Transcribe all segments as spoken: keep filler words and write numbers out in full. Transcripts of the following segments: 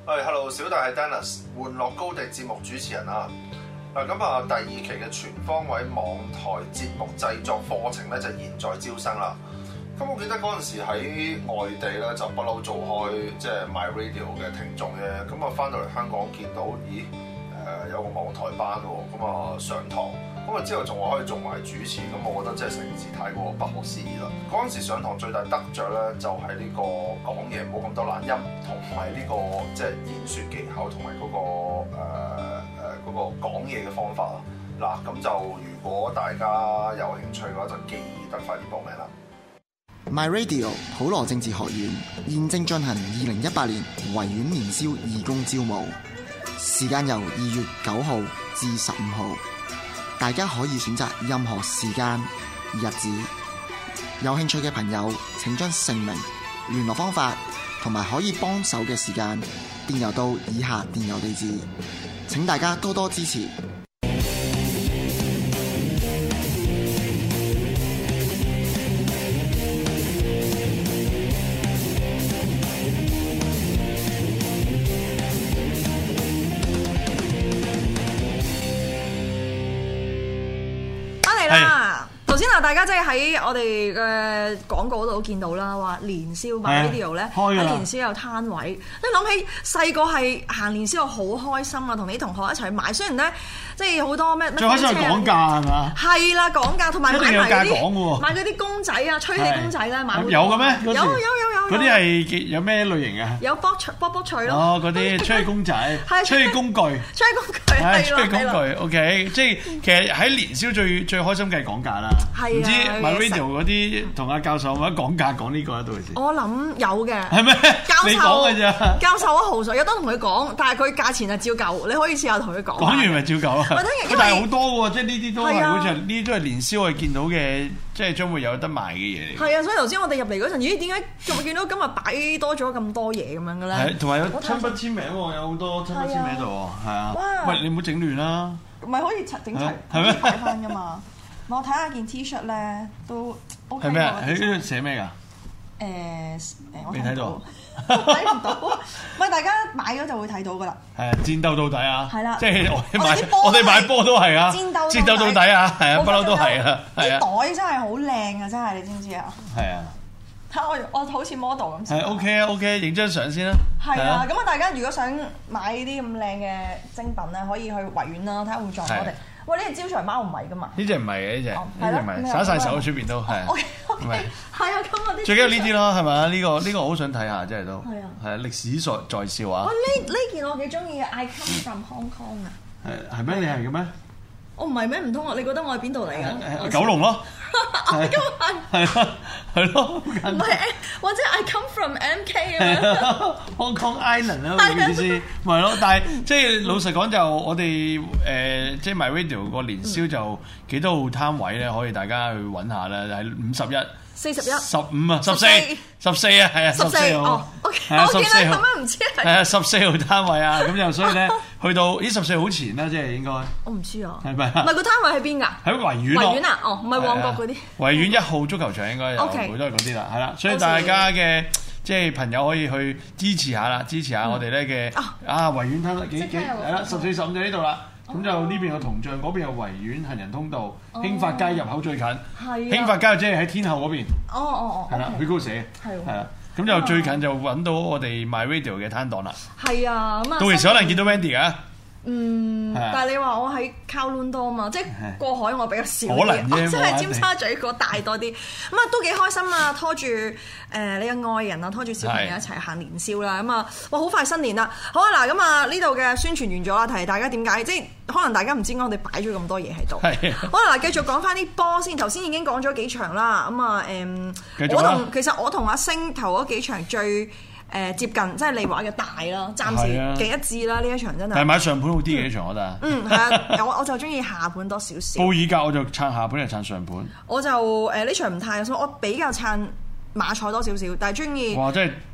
係 ，Hello， 小弟係 Dennis， 玩樂高地節目主持人啊。嗱，咁啊，第二期嘅全方位網台節目製作課程咧就現在招生啦。咁我記得嗰陣時喺外地咧就不嬲做開即係 My Radio 嘅聽眾嘅，咁啊翻到嚟香港見到，咦誒、呃、有個網台班喎，咁啊上堂。咁啊之後仲話可以做埋主持，咁我覺得真係成件事太過不可思議啦！嗰陣時上堂最大得着咧，就係呢個講嘢冇咁多懶音，同埋呢個即係言説技巧同埋嗰個誒誒嗰個講嘢嘅方法啊！嗱，咁就如果大家有興趣嘅話，就記得快啲報名啦 ！My Radio 普羅政治學院現正進行二零一八年維園年宵義工招募，時間由二月九號至十五號。大家可以選擇任何時間、日子。有興趣嘅朋友請將姓名、聯絡方法同埋可以幫手嘅時間電郵到以下電郵地址。請大家多多支持。 大家即係喺我哋嘅廣告嗰度都見到啦，話年宵 My Radio 咧喺年宵有攤位。你諗起細個係行年宵好開心啊，同你啲同學一齊去買。雖然咧即係好多咩， 最開心係講價係嘛？ 係啦，講價同埋買埋嗰啲買嗰啲公仔啊，吹氣公仔咧買好多。 有嘅咩？ 有有有有。 嗰啲係有咩類型啊？ 有卜脆卜卜脆咯。 哦，嗰啲吹氣公仔，吹氣工具， 吹氣工具係吹氣工具。OK， 即係其實喺年宵最最開心嘅係講價啦。唔知 My Radio 嗰啲同阿教授或者講價講呢個喺度先。我諗有嘅。係咩？你講嘅咋？ 教授啊豪水，有得同佢講，但係佢價錢係照舊，你可以試下同佢講。 講完咪照舊啊！但係好多喎，即係呢啲都係好似呢啲都係年宵我哋見到嘅，即係將會有得賣嘅嘢嚟。 係啊，所以頭先我哋入嚟嗰陣，咦？點解仲會見到今日擺多咗咁多嘢咁樣嘅咧？ 係，同埋有親筆簽名喎，有好多親筆簽名喺度喎，係啊。喂，你唔好整亂啦。 唔係可以整齊，係咩？擺翻㗎嘛。我睇下件 T-shirt 咧都 OK。 係咩啊？喺呢度寫咩㗎？ 誒誒，我未睇到， 睇唔到。唔係大家買咗就會睇到㗎啦。 係啊，戰鬥到底啊！ 係啦， 即係我哋買，我哋買波都係啊。戰鬥戰鬥到底啊！係啊，不嬲都係啊。係啊， 袋真係好靚啊！真係，你知唔知啊？ 係啊。 睇我我好似 model 咁。 係 OK 啊 OK，影張相先啦。 係啊，咁啊大家如果想買呢啲咁靚嘅精品咧，可以去維園啦，睇下會撞我哋。喂，呢隻招財貓唔係噶嘛？呢隻唔係嘅，呢隻呢隻唔係，耍晒手喺出邊都係。O K O K，係啊，咁啊啲最緊要呢啲咯，係咪啊？呢個呢個我好想睇下，真係都係啊，係啊，歷史在在笑啊！呢呢件我幾中意嘅 I come from Hong Kong 啊！係係咩？你係嘅咩？我唔係咩？唔通啊？你覺得我係邊度嚟㗎？九龍咯，係係咯係咯，唔係或者 I come from M K 啊 ？Hong Kong Island 啦，意思咪咯。但係即係老實講，就我哋誒即係 My Radio 個年宵就幾多號攤位咧，可以大家去揾下啦。係五十一、四十一、十五啊、十四、十四啊，係啊，十四號。OK，我見你咁樣唔知係。係啊，十四號攤位啊，咁就所以咧。去到咦十四好前啦，即係應該。我唔知啊。係咪？唔係個攤位喺邊㗎？喺維園咯。維園啊？哦，唔係旺角嗰啲。維園一號足球場應該有，好多係嗰啲啦，係啦。所以大家嘅即係朋友可以去支持下啦，支持下我哋咧嘅啊維園攤幾幾係啦，十四十五就呢度啦。咁就呢邊有銅像，嗰邊有維園行人通道，興發街入口最近。係。興發街即係喺天后嗰邊。哦哦哦。係啦，佢嗰度寫。係喎。係啦。咁就最近就揾到我哋 My Radio 嘅攤檔啦。係啊，咁啊，到時可能見到 Wendy 㗎。嗯，但係你話我喺 Kowloon 多嘛，即係過海我比較少啲，可能啫，即係尖沙咀嗰大多啲。咁啊都幾開心啊，拖住誒你嘅愛人啊，拖住小朋友一齊行年宵啦。咁啊，哇好快新年啦！好啊嗱，咁啊呢度嘅宣傳完咗啦，提大家點解，即係可能大家唔知我哋擺咗咁多嘢喺度。係。好啦嗱，繼續講翻啲波先，頭先已經講咗幾場啦。咁啊誒，我同其實我同阿星頭嗰幾場最。誒接近即係利華嘅大啦，暫時幾一致啦呢一場真係。係買上盤好啲嘅呢場我覺得。嗯係啊，我我就中意下盤多少少。布爾格我就撐下盤定撐上盤。我就誒呢場唔太，所以我比較撐馬賽多少少，但係中意。哇！真係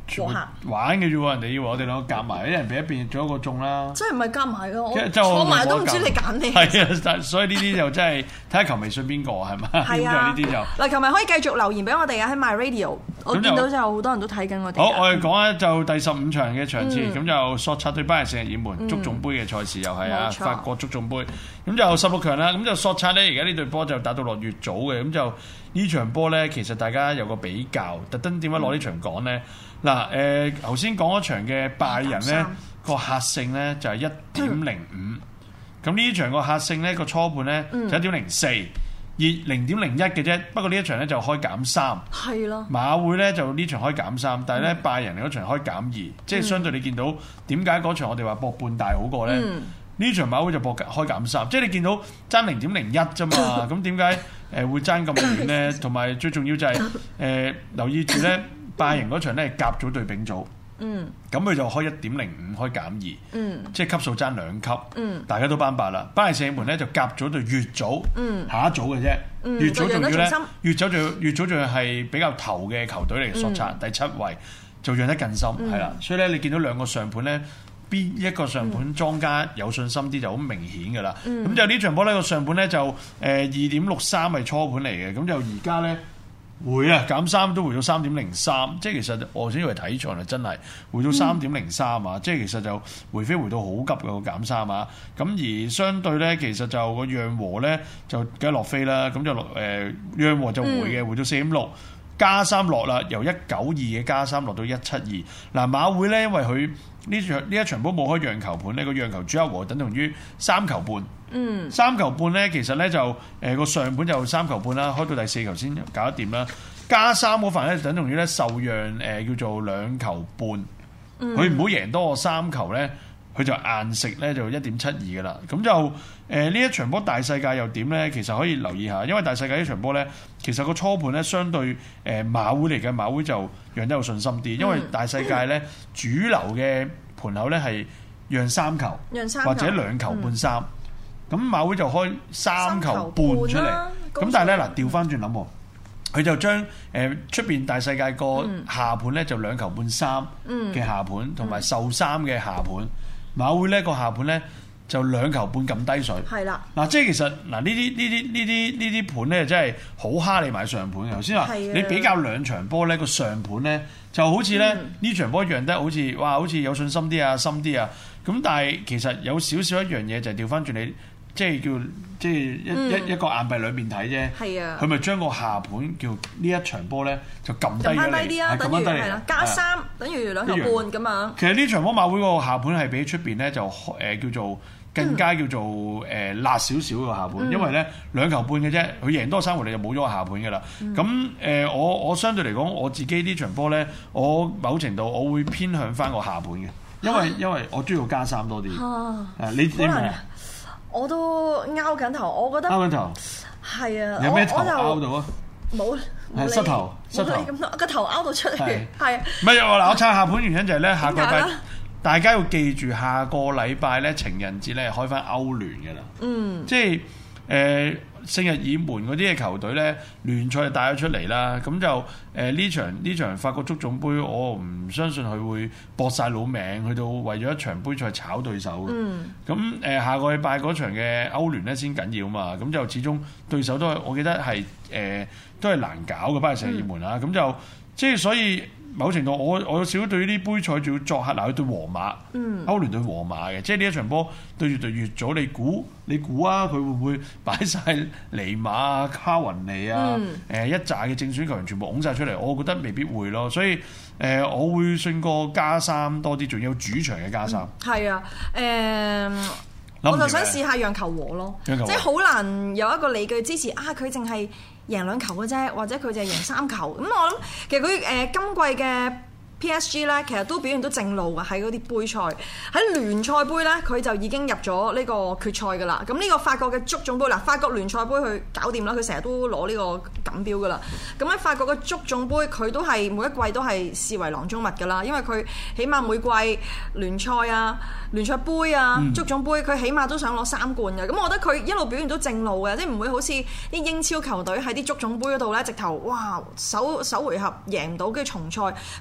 和諧玩嘅啫喎，人哋以為我哋兩個夾埋，一人俾一邊做一個中啦。 真係唔係夾埋㗎，我坐埋都唔知你揀咩。 係啊，所以呢啲就真係睇下球迷信邊個係嘛？係啊，呢啲就嗱，球迷可以繼續留言俾我哋啊，喺 My Radio，我見到就好多人都睇緊我哋。 好，我哋講咧就第十五場嘅場次，咁就索察對巴黎聖日耳門足總杯嘅賽事又係啊，法國足總杯，咁就十六強啦，咁就索察咧，而家呢隊波就打到落乙組嘅，咁就呢場波咧，其實大家有個比較，特登點解攞呢場講咧？嗱，誒頭先講嗰場嘅拜仁咧個客勝咧就係一點零五，咁呢場個客勝咧個初盤咧就一點零四，而零點零一嘅啫。不過呢一場咧就開減三，係咯。馬會咧就呢場開減三，但係咧拜仁嗰場開減二，即係相對你見到點解嗰場我哋話博半大好過咧？呢場馬會就博開減三，即係你見到爭零點零一啫嘛。咁點解誒會爭咁遠咧？同埋最重要就係誒留意住咧。拜仁嗰場咧係甲組對丙組，嗯，咁佢就開一點零五，開減二，嗯，即係級數爭兩級，嗯，大家都班白啦。巴黎聖日門咧就甲組對乙組，嗯，下一組嘅啫，嗯，乙組仲要咧，乙組仲要乙組仲要係比較頭嘅球隊嚟嘅，索察第七位就讓得更深，係啦，嗯，所以咧你見到兩個上盤咧，邊一個上盤莊家有信心啲就好明顯㗎啦，咁，嗯，就呢場波呢個上盤咧就誒二點六三係初盤嚟嘅，咁就而家咧。回啊減三都回到三點零三，即係其實我先以為睇場啊，真係回到三點零三啊！即係其實就回飛回到好急嘅個減三啊！咁而相對咧，其實就個讓和咧就梗係落飛啦，咁就落誒讓和就回嘅，回到四點六，加三落啦，由一九二嘅加三落到一七二。嗱馬會咧，因為佢呢場呢一場波冇開讓球盤呢，個讓球主客和等同於三球半。嗯，三球半咧，其實咧就誒個、呃、上盤就三球半啦，開到第四球先搞得掂啦。加三嗰份咧，等同於咧受讓誒、呃、叫做兩球半，佢唔好贏多個三球咧，佢就硬食咧就一點七二噶啦。咁就誒呢、呃、一場波大世界又點咧？其實可以留意下，因為大世界呢場波咧，其實個初盤咧相對誒、呃、馬會嚟嘅，馬會就讓得有信心啲，因為大世界咧主流嘅盤口咧係讓三球，讓三球或者兩球半三。嗯咁馬會就開三球半出嚟，咁但係咧嗱調翻轉諗喎，佢就將誒出邊大世界個下盤咧就兩球半三嘅下盤，同埋受三嘅下盤，馬會咧個下盤咧就兩球半咁低水。係啦，嗱即係其實嗱呢啲呢啲呢啲呢啲盤咧真係好蝦你買上盤嘅。頭先話你比較兩場波咧個上盤咧就好似咧呢、嗯、場波讓得好似哇好似有信心啲啊深啲啊，咁但係其實有少少一樣嘢就係調翻轉你。即係叫即係一、嗯、一一個硬幣裏面睇啫，係啊，佢咪將個下盤叫呢一場波咧就撳低咗你， 低啲啊，等於係啦，加三等於兩球半咁樣。 其實呢場波馬會個下盤係比出邊咧就誒、呃、叫做更加叫做誒、呃、辣少少個下盤，嗯、因為咧兩球半嘅啫，佢贏多三回你就冇咗個下盤㗎啦。咁誒、嗯呃、我我相對嚟講我自己呢場波咧，我某程度我會偏向翻個下盤嘅，因為、啊、因為我中意加三多啲。啊，誒你你明啊？ 我都拗緊頭，我覺得拗緊頭係啊！ 有咩頭拗到啊？ 冇， 係膝頭，膝頭咁多個頭拗到出嚟，係。 唔係嗱，我撐下盤原因就係咧，下個禮拜大家要記住，下個禮拜咧情人節咧開翻歐聯嘅啦。嗯，即係誒聖日耳門嗰啲嘅球隊咧聯賽就帶咗出嚟啦，咁就誒呢、呃、場呢場法國足總杯，我唔相信佢會搏晒老命去到為咗一場杯賽炒對手嘅。嗯，咁誒、呃、下個禮拜嗰場嘅歐聯咧先緊要嘛，咁就始終對手都係我記得係誒、呃、都係難搞嘅，巴黎聖日耳門啊，咁、嗯、就即係所以。某程度我我有少少對於啲杯賽仲要作客嗱，去對皇馬，嗯、歐聯對皇馬嘅，即係呢一場波對住對乙組，你估你估啊，佢會唔會擺晒尼馬啊、卡雲尼啊，誒、嗯呃、一紮嘅正選球員全部拱晒出嚟？我覺得未必會咯，所以誒、呃、我會信過加三多啲，仲有主場嘅加三。係、嗯、啊，誒、呃，我就想試下讓球和咯，即係好難有一個理據支持啊，佢淨係贏兩球嘅啫，或者佢就係贏三球。咁我諗其實佢誒、呃、今季嘅 P S G 咧，其實都表現到正路嘅喺嗰啲杯賽。喺聯賽杯咧，佢就已經入咗呢個決賽㗎啦。咁呢個法國嘅足總杯嗱，法國聯賽杯佢搞掂啦，佢成日都攞呢個錦標㗎啦。咁喺法國嘅足總杯，佢都係每一季都係視為囊中物㗎啦，因為佢起碼每季聯賽啊、聯賽杯啊、足總杯，佢起碼都想攞三冠嘅。咁我覺得佢一路表現都正路嘅，即係唔會好似啲英超球隊喺啲足總杯嗰度咧，直頭哇首首回合贏唔到，跟住重賽。佢又比較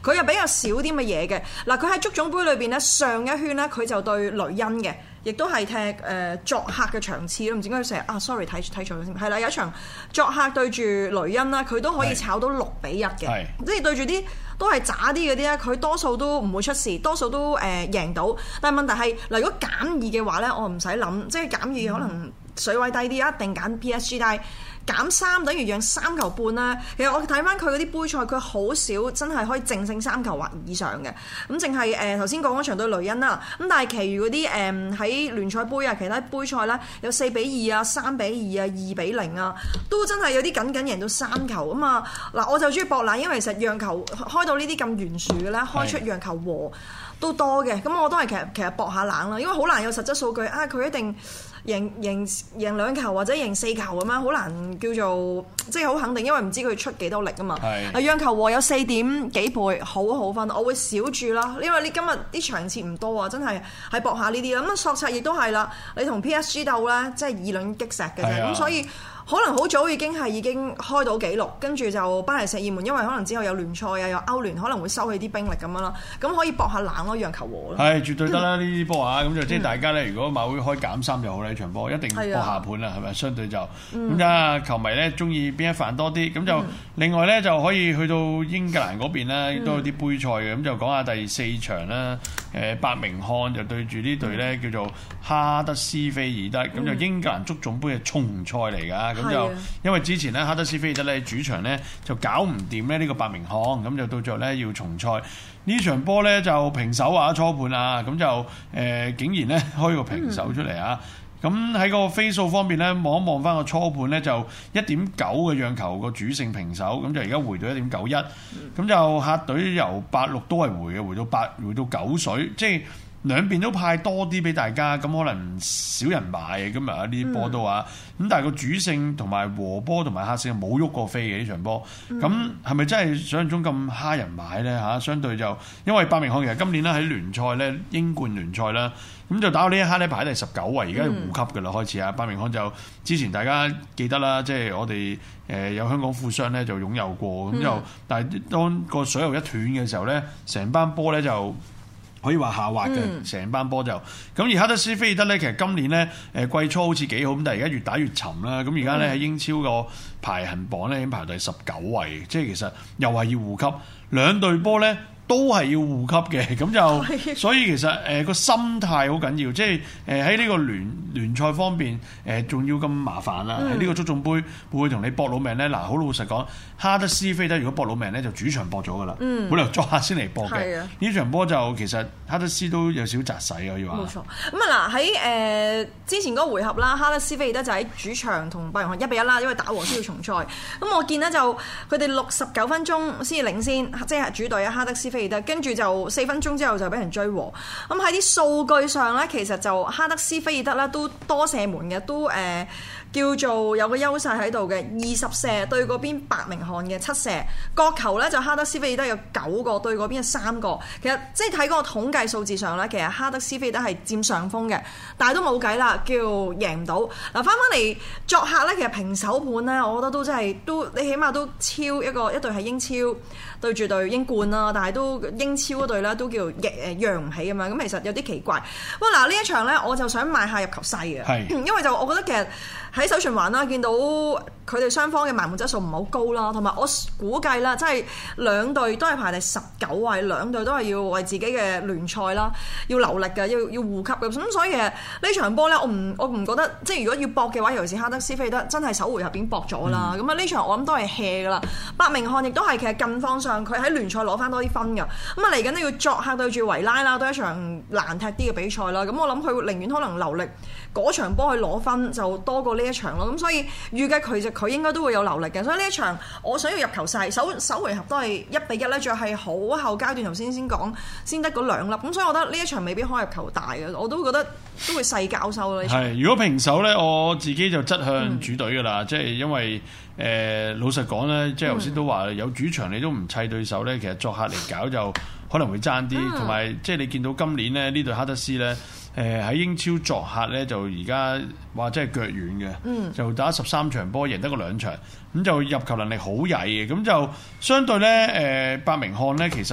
較少啲嘅嘢嘅。嗱，佢喺足總杯裏邊咧，上一圈咧佢就對雷恩嘅，亦都係踢誒、呃、作客嘅場次咯。唔知點解佢成日啊 sorry 睇睇錯咗先，係啦，有一場作客對住雷恩啦，佢都可以炒到六比一嘅，即係對住啲都係渣啲嗰啲咧，佢多數都唔會出事，多數都誒、呃、贏到。但係問題係嗱，如果減二嘅話咧，我唔使諗，即係減二可能水位低啲，一定揀 P S G， 但係減三等於讓三球半啦。其實我睇翻佢嗰啲杯賽，佢好少真係可以淨勝三球或以上嘅。咁淨係誒頭先講嗰場對雷恩啦。咁但係其餘嗰啲誒喺聯賽杯啊，其他杯賽咧有四比二啊、三比二啊、二比零啊，都真係有啲緊緊贏到三球啊嘛。嗱，我就中意博奶，因為其實讓球開到呢啲咁懸殊嘅咧，開出讓球和都多嘅。咁我都係其實其實博下冷啦，因為好難有實質數據啊，佢一定贏贏贏兩球或者贏四球咁樣，好難叫做即係好肯定，因為唔知佢出幾多力啊嘛。係。讓球和有四點幾倍，好好分，我會少注啦，因為你今日啲場次唔多啊，真係係博下呢啲啦。咁索察亦都係啦，你同 P S G 鬥咧，即係以卵擊石嘅啫。咁所以可能好早已經係已經開到紀錄，跟住就巴黎聖日耳門，因為可能之後有聯賽啊，有歐聯，可能會收起啲兵力咁樣啦。咁可以搏下冷咯，讓球和咯。係絕對得啦，呢啲波啊，咁就即係大家咧，如果馬會開減三就好啦，呢場波一定搏下盤啦，係咪？相對就咁啊，球迷咧中意邊一範多啲，咁就另外咧就可以去到英格蘭嗰邊咧，都有啲杯賽嘅，咁就講下第四場啦。誒，伯明翰就對住呢隊咧叫做哈德斯菲爾德，咁就英格蘭足總杯嘅重賽嚟㗎。咁就因為之前咧哈德斯菲爾德咧主場咧就搞唔掂咧呢個伯明翰，咁就到最後咧要重賽。呢場波咧就平手啊，初盤啊，咁就誒、呃、竟然咧開個平手出嚟啊！咁喺個飛數方面咧，望一望翻個初盤咧就一點九嘅讓球個主勝平手，咁就而家回到一點九一，咁就客隊由八六都係回嘅，回到八回到九水，即係兩邊都派多啲俾大家，咁可能少人買嘅今日啊呢啲波都啊，咁、嗯、但係個主勝同埋和波同埋客勝冇喐過飛嘅呢場波，咁係咪真係想像中咁蝦人買咧嚇？相對就因為伯明翰其實今年咧喺聯賽咧英冠聯賽啦，咁就打到呢一刻咧排第十九位，而家係護級㗎啦開始啊！伯明翰就之前大家記得啦，即係我哋誒有香港富商咧就擁有過，咁就、嗯、但係當個水喉一斷嘅時候咧，成班波咧就可以話下滑嘅，成、嗯、班波就咁。而哈德斯菲爾德咧，其實今年咧誒季初好似幾好，咁但係而家越打越沉啦。咁而家咧喺英超個排行榜咧已經排第十九位，即係其實又係要護級，兩隊波咧都係要護級嘅，咁就所以其實誒個、呃、心態好緊要，即係誒喺呢個聯聯賽方面誒仲、呃、要咁麻煩啦。喺呢、嗯、個足總杯會唔會同你搏老命咧？嗱，好老實講，哈德斯菲爾德如果搏老命咧，就主場搏咗噶啦，冇理由作客先嚟搏嘅。呢、嗯、場波就其實哈德斯都有少窒勢啊，要話。冇錯。咁啊嗱，喺誒之前嗰個回合啦，哈德斯菲爾德就喺主場同伯明翰一比一啦，因為打和先要重賽。咁我見咧就佢哋六十九分鐘先至領先，即係主隊啊哈德斯菲爾德，跟住就四分鐘之後就俾人追和。咁喺啲數據上咧，其實就哈德斯菲爾德咧都多射門嘅，都誒、呃、叫做有個優勢喺度嘅，二十射對嗰邊伯明翰嘅七射，角球咧就哈德斯菲爾德有九個對嗰邊嘅三個。其實即係睇嗰個統計數字上咧，其實哈德斯菲爾德係佔上風嘅，但係都冇計啦，叫贏唔到。嗱，翻翻嚟作客咧，其實平手盤咧，我覺得都真係都你起碼都超一個一隊係英超對住隊英冠啦，但係都英超嗰隊咧都叫誒讓唔起咁樣，咁其實有啲奇怪。喂，嗱呢一場咧，我就想買下入球細嘅，係因為就我覺得其實喺首循環啦，見到佢哋雙方嘅埋門質素唔係好高啦，同埋我估計啦，即係兩隊都係排第十九位，兩隊都係要為自己嘅聯賽啦，要留力嘅，要要護級嘅，咁所以其實呢場波咧，我唔我唔覺得，即係如果要搏嘅話，尤其是哈德斯菲爾德真係首回合已經搏咗啦，咁啊呢場我諗都係 hea 噶啦。伯明翰亦都係其實近方上，佢喺聯賽攞翻多啲分㗎，咁啊嚟緊都要作客對住維拉啦，都係一場難踢啲嘅比賽啦，咁我諗佢寧願可能留力嗰場波去攞分就多過呢一場咯，咁所以預計佢就佢應該都會有留力嘅，所以呢一場我想要入球細，首首回合都係一比一咧，仲係好後階段頭先先講先得嗰兩粒，咁所以我覺得呢一場未必可以入球大嘅，我都覺得都會細交收咯。係，如果平手咧，我自己就側向主隊㗎啦，即係、嗯、因為誒、呃、老實講咧，即係頭先都話有主場你都唔砌對手咧，其實作客嚟搞就可能會爭啲，同埋、嗯、即係你見到今年咧呢隊哈德斯咧。誒喺、呃、英超作客咧，就而家話真係腳軟嘅，嗯、就打十三場波，贏得個兩場，咁就入球能力好曳嘅，咁就相對咧誒、呃、伯明翰咧，其實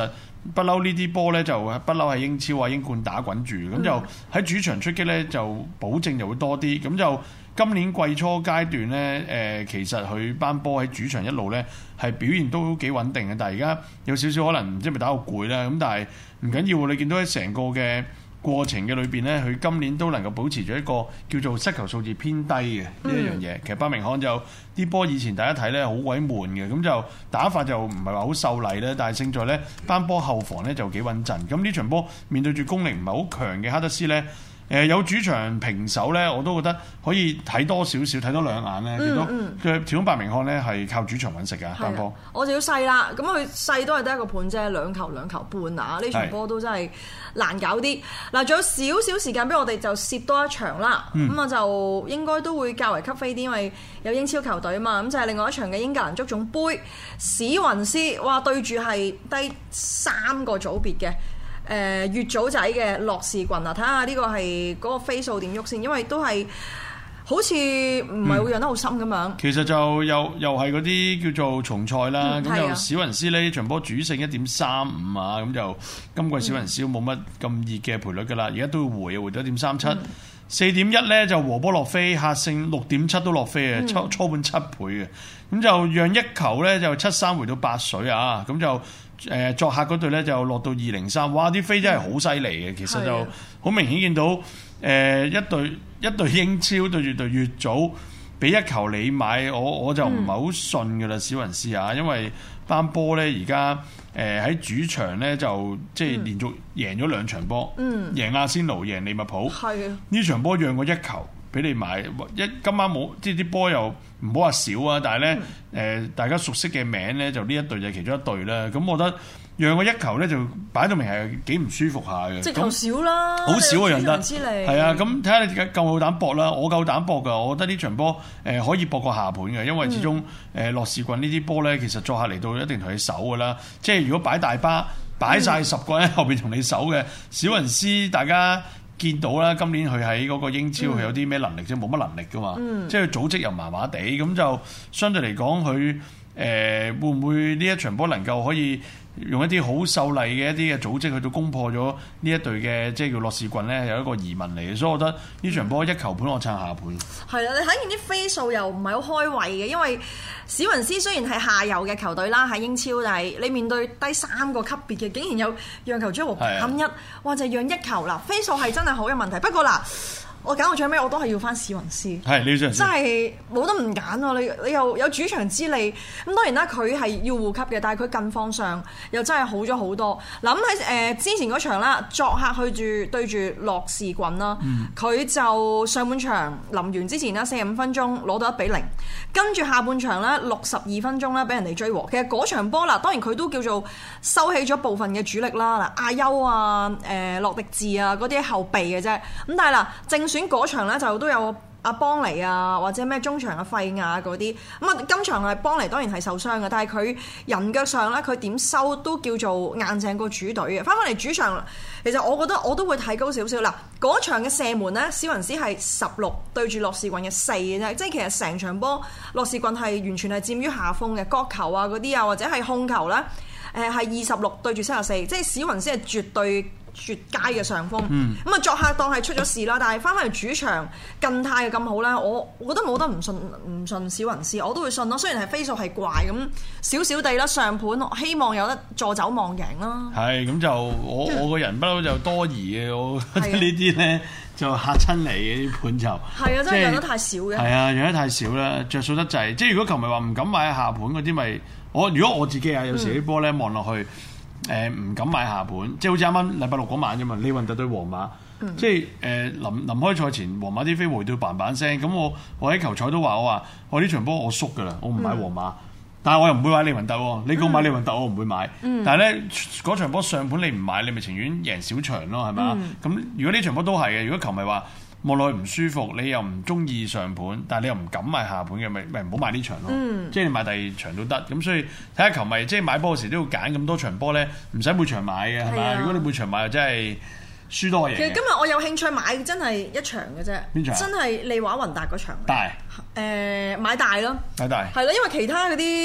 不嬲呢啲波咧就不嬲喺英超啊英冠打滾住，咁、嗯、就喺主場出擊咧就保證就會多啲。咁就今年季初階段咧，誒、呃、其實佢班波喺主場一路咧係表現都幾穩定嘅，但係而家有少少可能唔知係咪打到攰啦，咁但係唔緊要，你見到喺成個嘅過程嘅裏邊咧，佢今年都能夠保持住一個叫做失球數字偏低嘅呢一樣嘢。其實伯明翰就啲波以前大家睇咧好鬼悶嘅，咁就打法就唔係話好秀麗咧，但係勝在咧班波後防咧就幾穩陣。咁呢場波面對住功力唔係好強嘅哈德斯咧。誒、呃、有主場平手咧，我都覺得可以睇多少少，睇多兩眼咧。見到佢始終伯明翰咧係靠主場揾食嘅單波。 我就要細啦，咁佢細都係得一個盤啫，兩球兩球半啊！呢場波都真係難搞啲。嗱，仲有少少時間俾我哋就攝多一場啦。咁啊、嗯、就應該都會較為吸飛啲，因為有英超球隊啊嘛。咁就係另外一場嘅英格蘭足總杯，史雲斯哇對住係低三個組別嘅。誒、呃、乙組仔嘅洛士郡啊，睇下呢個係嗰個飛數點喐先，因為都係好似唔係會讓得好深咁樣、嗯。其實就又又係嗰啲叫做重賽啦，咁、嗯、就史雲斯呢場波主勝一點三五啊，咁就今季史雲斯冇乜咁熱嘅賠率噶啦，而家都要回啊，回到一點三七，四點一咧就和波落飛，客勝六點七都落飛啊，初初盤七倍嘅，咁就讓一球咧就七三回到八水啊，咁就。誒作客嗰隊咧就落到二零三，哇！啲飛真係好犀利嘅，其實就好明顯見到誒、呃、一隊一隊英超對住隊乙組，俾一球你買，我我就唔係好信㗎啦，史雲斯啊，因為班波咧而家誒喺主場咧就即係連續贏咗兩場波，嗯、贏阿仙奴、贏利物浦，呢的場波讓過一球。俾你買一今晚冇，即係啲波又唔好話少啊！但係咧，誒、嗯呃、大家熟悉嘅名咧，就呢一隊就其中一隊啦。咁我覺得讓個一球咧，就擺到明係幾唔舒服下嘅。 即係球少啦， 好少啊，讓得係啊！咁睇下你夠唔夠膽搏啦？我夠膽搏㗎，我覺得呢場波誒、呃、可以搏個下盤嘅，因為始終誒洛士郡呢啲波咧，其實作客嚟到一定同你守㗎啦。即係如果擺大巴擺晒十個人喺後邊同你守嘅史雲斯，大家。見到啦，今年佢喺嗰個英超佢、嗯、有啲咩能力啫？冇乜能力噶嘛，嗯、即係佢組織又麻麻地，咁就相對嚟講，佢誒、呃、會唔會呢一場波能夠可以用一啲好秀麗嘅一啲嘅組織去到攻破咗呢一隊嘅即係叫洛士郡咧，有一個疑問嚟嘅，所以我覺得呢場波一球盤我撐下盤。係啊， 你睇見啲飛數又唔係好開胃嘅，因為史雲斯雖然係下游嘅球隊啦，喺英超，但係你面對低三個級別嘅，竟然有讓球主和減一，哇就係讓一球啦，飛數係真係好有問題。不過嗱。我揀到最尾我都係要翻史雲斯，係呢場真係冇得唔揀喎！你你又有主場之利，咁當然啦，佢係要護級嘅，但係佢近況上又真係好咗好多。嗱咁喺誒之前嗰場啦，作客去住對住洛士郡啦，佢、嗯、就上半場臨完之前啦，四十五分鐘攞到一比零，跟住下半場咧六十二分鐘咧俾人哋追和。其實嗰場波啦，當然佢都叫做收起咗部分嘅主力啦，嗱亞優啊、誒、呃、洛迪治啊嗰啲後備嘅啫。咁但係嗱正選嗰場咧就都有阿邦尼啊，或者咩中場嘅費亞嗰啲，咁啊今場係邦尼當然係受傷嘅，但係佢人腳上咧佢點收都叫做硬淨過主隊嘅。翻返嚟主場，其實我覺得我都會睇高少少。嗱嗰場嘅射門咧，史雲斯係十六對住洛士郡嘅四嘅啫，即係其實成場波洛士郡係完全係佔於下風嘅，角球啊嗰啲啊或者係控球咧，誒係二十六對住三十四，即係史雲斯係絕對絕佳嘅上風，咁啊、嗯、作客當係出咗事啦，但係翻返去主場近態嘅咁好咧，我我覺得冇得唔信唔信史雲斯，我都會信咯。雖然係飛數係怪咁少少地啦，上盤希望有得助走望贏啦。係咁就我我個人不嬲就多疑嘅，我覺得呢啲咧就嚇親你嘅啲盤就係啊，真係讓得太少嘅。係啊，讓得太少啦，着數得滯。即係如果球迷話唔敢買下盤嗰啲，咪我如果我自己啊，有時啲波咧望落去。誒唔、呃、敢買下盤，即係好似啱啱禮拜六嗰晚啫嘛，利雲特對皇馬，嗯、即係誒、呃、臨臨開賽前，皇馬啲飛回到嘭嘭聲，咁我我喺球賽都話我話我呢場波我縮㗎啦，我唔買皇馬，嗯、但係我又唔會買利雲特喎，你講買利雲特我唔會買，嗯、但係咧嗰場波上盤你唔買，你咪情願贏小場咯，係咪啊？咁、嗯、如果呢場波都係嘅，如果球迷話望落去唔舒服，你又唔中意上盤，但係你又唔敢買下盤嘅，咪咪唔好買呢場咯。嗯、即係你買第二場都得。咁所以睇下球迷，即係買波嗰時都要揀咁多場波咧，唔使每場買嘅係嘛？如果你每場買，就真係輸多嘢。其實今日我有興趣買真係一場嘅啫。邊場？真係利華雲達嗰場。大。誒、呃、買大咯。買大。係咯，因為其他嗰啲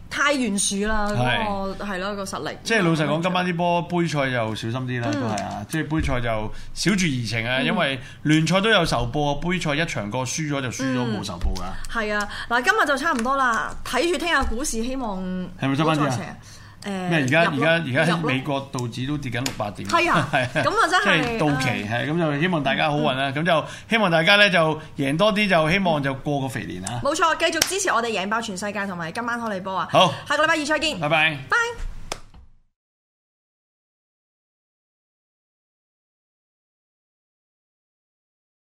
太懸殊啦，嗰個係咯個實力。 即係老實講，今晚啲波杯賽就小心啲啦，都係啊！即係杯賽就少住怡情啊，因為聯賽都有仇報啊，杯賽一場過輸咗就輸咗，冇仇報㗎。 係啊，嗱，今日就差唔多啦，睇住聽日股市，希望係咪執翻啲啊？誒咩？而家而家而家美國道指都跌緊六百點， 係啊，係咁啊真係即係到期係咁，就希望大家好運啦。咁就希望大家咧就贏多啲，就希望就過個肥年啊！ 冇錯，繼續支持我哋贏爆全世界同埋今晚開你波啊！ 好， 下個禮拜二再見， 拜拜。